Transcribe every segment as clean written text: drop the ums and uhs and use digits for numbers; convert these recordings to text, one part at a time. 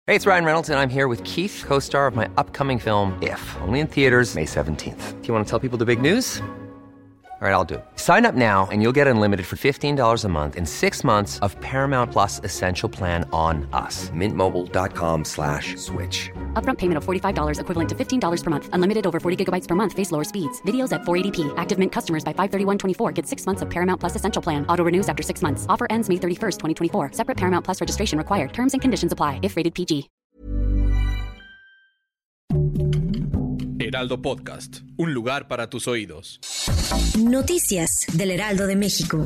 Hey, it's Ryan Reynolds, and I'm here with Keith, co-star of my upcoming film, If, only in theaters May 17th. Do you want to tell people the big news? All right, I'll do it. Sign up now and you'll get unlimited for $15 a month and 6 months of Paramount Plus Essential Plan on us. MintMobile.com/switch. Upfront payment of $45 equivalent to $15 per month. Unlimited over 40 gigabytes per month. Face lower speeds. Videos at 480p. Active Mint customers by 531.24 get 6 months of Paramount Plus Essential Plan. Auto renews after 6 months. Offer ends May 31st, 2024. Separate Paramount Plus registration required. Terms and conditions apply if rated PG. Heraldo Podcast, un lugar para tus oídos. Noticias del Heraldo de México.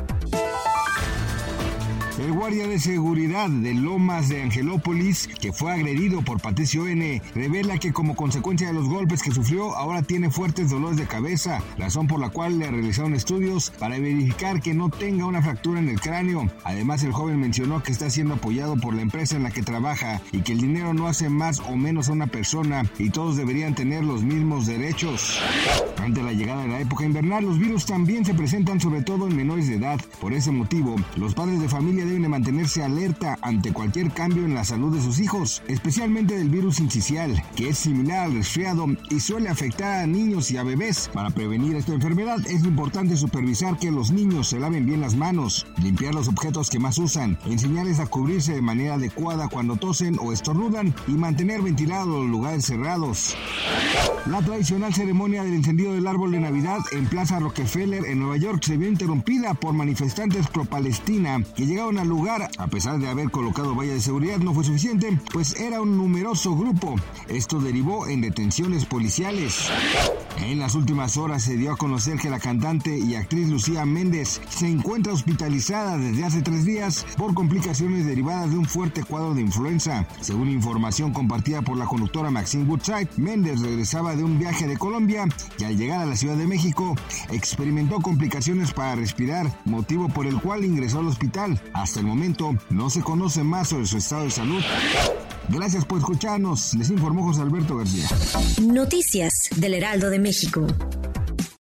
El guardia de seguridad de Lomas de Angelópolis, que fue agredido por Patricio N., revela que como consecuencia de los golpes que sufrió, ahora tiene fuertes dolores de cabeza, razón por la cual le realizaron estudios para verificar que no tenga una fractura en el cráneo. Además, el joven mencionó que está siendo apoyado por la empresa en la que trabaja y que el dinero no hace más o menos a una persona y todos deberían tener los mismos derechos. Ante la llegada de la época invernal, los virus también se presentan sobre todo en menores de edad. Por ese motivo, los padres de familia deben de mantenerse alerta ante cualquier cambio en la salud de sus hijos, especialmente del virus sincicial, que es similar al resfriado y suele afectar a niños y a bebés. Para prevenir esta enfermedad es importante supervisar que los niños se laven bien las manos, limpiar los objetos que más usan, enseñarles a cubrirse de manera adecuada cuando tosen o estornudan y mantener ventilados los lugares cerrados. La tradicional ceremonia del encendido del árbol de Navidad en Plaza Rockefeller en Nueva York se vio interrumpida por manifestantes pro-Palestina que llegaron al lugar. A pesar de haber colocado vallas de seguridad, no fue suficiente, pues era un numeroso grupo. Esto derivó en detenciones policiales. En las últimas horas se dio a conocer que la cantante y actriz Lucía Méndez se encuentra hospitalizada desde hace 3 días por complicaciones derivadas de un fuerte cuadro de influenza. Según información compartida por la conductora Maxine Woodside, Méndez regresaba de un viaje de Colombia y al llegar a la Ciudad de México experimentó complicaciones para respirar, motivo por el cual ingresó al hospital. Hasta el momento no se conoce más sobre su estado de salud. Gracias por escucharnos, les informó José Alberto García. Noticias del Heraldo de México.